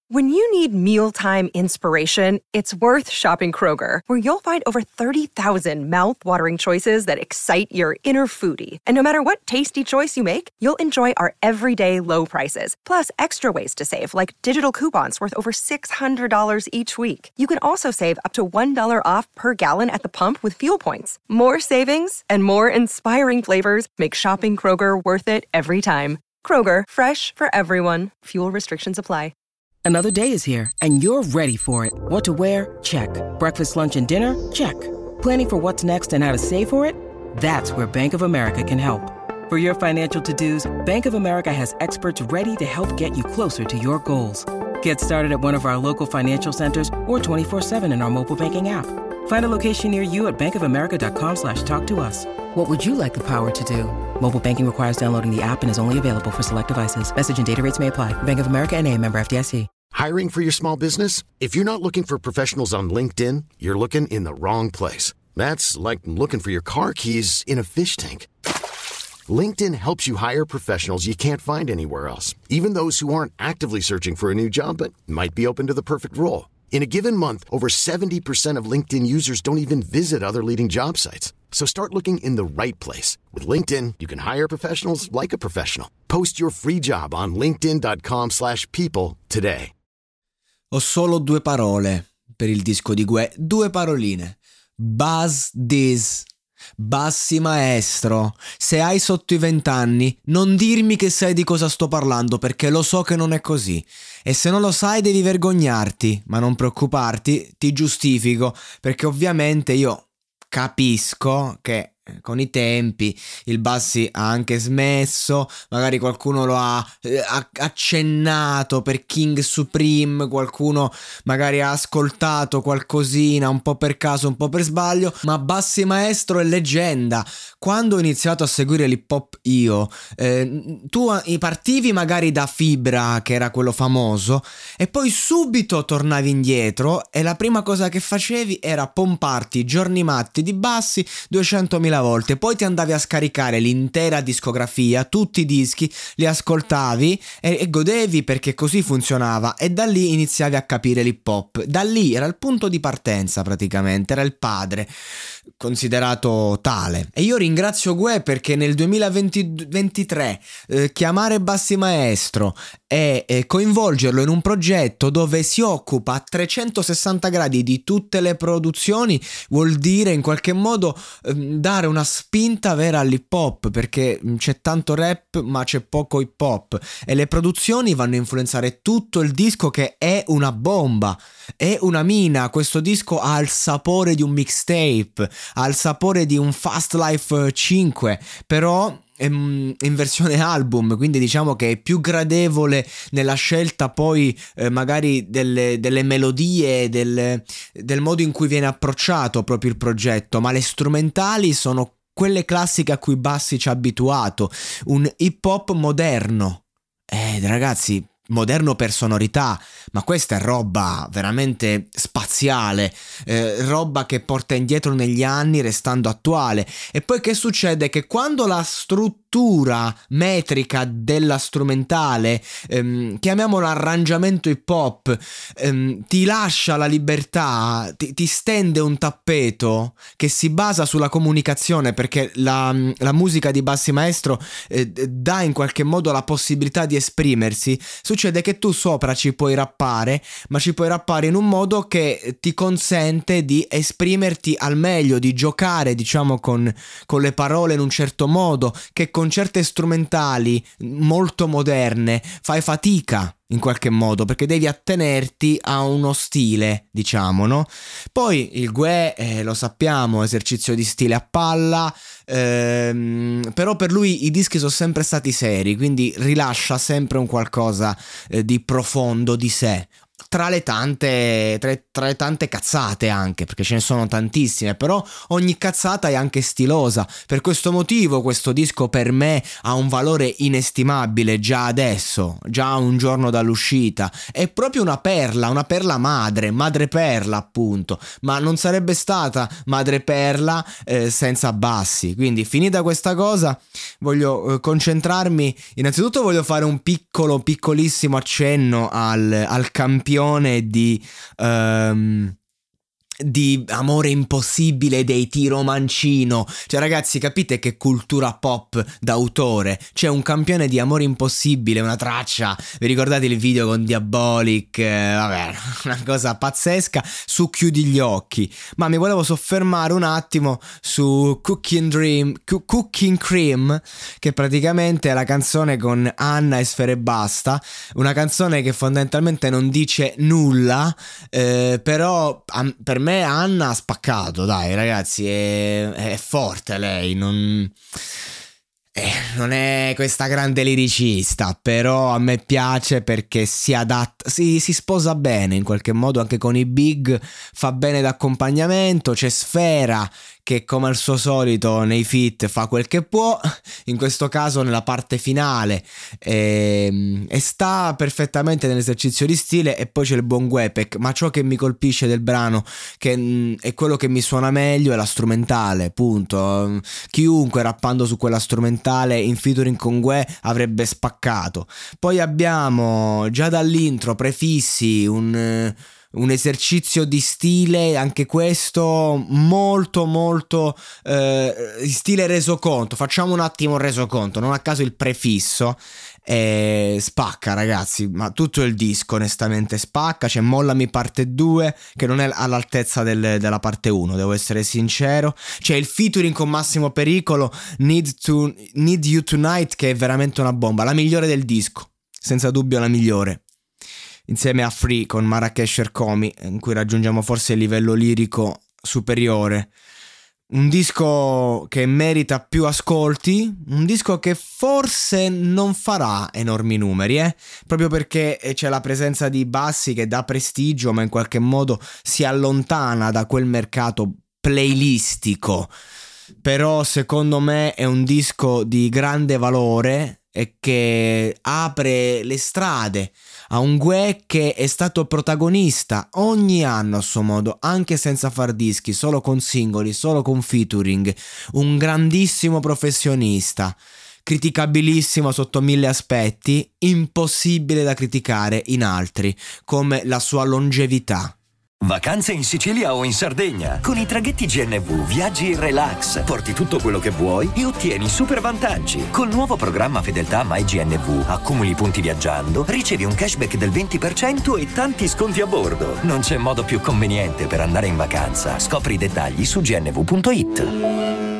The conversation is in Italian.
When you need mealtime inspiration, it's worth shopping Kroger, where you'll find over 30,000 mouth-watering choices that excite your inner foodie. And no matter what tasty choice you make, you'll enjoy our everyday low prices, plus extra ways to save, like digital coupons worth over $600 each week. You can also save up to $1 off per gallon at the pump with fuel points. More savings and more inspiring flavors make shopping Kroger worth it every time. Kroger, fresh for everyone. Fuel restrictions apply. Another day is here, and you're ready for it. What to wear? Check. Breakfast, lunch, and dinner? Check. Planning for what's next and how to save for it? That's where Bank of America can help. For your financial to-dos, Bank of America has experts ready to help get you closer to your goals. Get started at one of our local financial centers or 24/7 in our mobile banking app. Find a location near you at bankofamerica.com/talktous. What would you like the power to do? Mobile banking requires downloading the app and is only available for select devices. Message and data rates may apply. Bank of America N.A., member FDIC. Hiring for your small business? If you're not looking for professionals on LinkedIn, you're looking in the wrong place. That's like looking for your car keys in a fish tank. LinkedIn helps you hire professionals you can't find anywhere else, even those who aren't actively searching for a new job but might be open to the perfect role. In a given month, over 70% of LinkedIn users don't even visit other leading job sites. So start looking in the right place. With LinkedIn, you can hire professionals like a professional. Post your free job on linkedin.com/people today. Ho solo 2 parole per il disco di Guè, 2 paroline. Buzz this. Bassi maestro, se hai sotto i 20 anni, non dirmi che sai di cosa sto parlando, perché lo so che non è così. E se non lo sai devi vergognarti, ma non preoccuparti, ti giustifico, perché ovviamente io capisco che con i tempi il Bassi ha anche smesso, magari qualcuno lo ha accennato per King Supreme, qualcuno magari ha ascoltato qualcosina un po' per caso, un po' per sbaglio, ma Bassi maestro è leggenda. Quando ho iniziato a seguire l'hip hop io, tu partivi magari da Fibra, che era quello famoso, e poi subito tornavi indietro e la prima cosa che facevi era pomparti Giorni Matti di Bassi 200.000 volte, poi ti andavi a scaricare l'intera discografia, tutti i dischi, li ascoltavi e godevi, perché così funzionava, e da lì iniziavi a capire l'hip hop. Da lì era il punto di partenza, praticamente era il padre, considerato tale. E io ringrazio Guè perché nel 2023 chiamare Bassi maestro e coinvolgerlo in un progetto dove si occupa a 360 gradi di tutte le produzioni vuol dire in qualche modo dare una spinta vera all'hip hop, perché c'è tanto rap ma c'è poco hip hop e le produzioni vanno a influenzare tutto il disco, che è una bomba, è una mina. Questo disco ha il sapore di un mixtape, ha il sapore di un Fast Life 5, però in versione album, quindi diciamo che è più gradevole nella scelta poi magari delle melodie, del modo in cui viene approcciato proprio il progetto, ma le strumentali sono quelle classiche a cui Bassi ci ha abituato, un hip hop moderno, ragazzi, moderno per sonorità, ma questa è roba veramente spaziale, roba che porta indietro negli anni restando attuale. E poi che succede? Che quando la struttura metrica della strumentale, chiamiamola arrangiamento hip hop, ti lascia la libertà, ti stende un tappeto che si basa sulla comunicazione, perché la musica di Bassi maestro dà in qualche modo la possibilità di esprimersi. Succede che tu sopra ci puoi rappare, ma ci puoi rappare in un modo che ti consente di esprimerti al meglio, di giocare diciamo con le parole in un certo modo, che con certe strumentali molto moderne fai fatica in qualche modo, perché devi attenerti a uno stile, diciamo, no? Poi il Guè, lo sappiamo, esercizio di stile a palla, però per lui i dischi sono sempre stati seri, quindi rilascia sempre un qualcosa di profondo di sé. tra le tante cazzate, anche perché ce ne sono tantissime, però ogni cazzata è anche stilosa. Per questo motivo questo disco per me ha un valore inestimabile già adesso, già un giorno dall'uscita. È proprio una perla madreperla appunto, ma non sarebbe stata madreperla senza Bassi. Quindi finita questa cosa voglio concentrarmi, innanzitutto voglio fare un piccolissimo accenno al campione di Amore impossibile dei Tiro Mancino. Cioè ragazzi, capite che cultura pop d'autore? C'è un campione di Amore impossibile, una traccia, vi ricordate il video con Diabolic? Vabbè, una cosa pazzesca, su Chiudi gli occhi. Ma mi volevo soffermare un attimo su Cooking Cream, che praticamente è la canzone con Anna e Sfera Ebbasta, una canzone che fondamentalmente non dice nulla, però per me Anna ha spaccato, dai ragazzi, è forte lei, non è questa grande liricista, però a me piace perché si adatta, si sposa bene in qualche modo anche con i big, fa bene d'accompagnamento. C'è Sfera che come al suo solito nei feat fa quel che può, in questo caso nella parte finale, e sta perfettamente nell'esercizio di stile. E poi c'è il buon Guepec, ma ciò che mi colpisce del brano, che è quello che mi suona meglio, è la strumentale, punto. Chiunque rappando su quella strumentale in featuring con Gue avrebbe spaccato. Poi abbiamo già dall'intro Prefissi, un esercizio di stile, anche questo molto stile resoconto. Facciamo un attimo un resoconto, non a caso il prefisso spacca ragazzi, ma tutto il disco onestamente spacca. C'è Mollami parte 2 che non è all'altezza della parte 1, devo essere sincero. C'è il featuring con Massimo Pericolo, Need You Tonight, che è veramente una bomba, la migliore del disco, senza dubbio la migliore, insieme a Free con Marrakesh Ercomi, in cui raggiungiamo forse il livello lirico superiore. Un disco che merita più ascolti, un disco che forse non farà enormi numeri, proprio perché c'è la presenza di Bassi che dà prestigio, ma in qualche modo si allontana da quel mercato playlistico. Però secondo me è un disco di grande valore e che apre le strade a un Gue che è stato protagonista ogni anno a suo modo, anche senza far dischi, solo con singoli, solo con featuring. Un grandissimo professionista, criticabilissimo sotto 1000 aspetti, impossibile da criticare in altri, come la sua longevità. Vacanze in Sicilia o in Sardegna. Con i traghetti GNV viaggi in relax, porti tutto quello che vuoi e ottieni super vantaggi. Col nuovo programma Fedeltà MyGNV accumuli punti viaggiando, ricevi un cashback del 20% e tanti sconti a bordo. Non c'è modo più conveniente per andare in vacanza. Scopri i dettagli su gnv.it.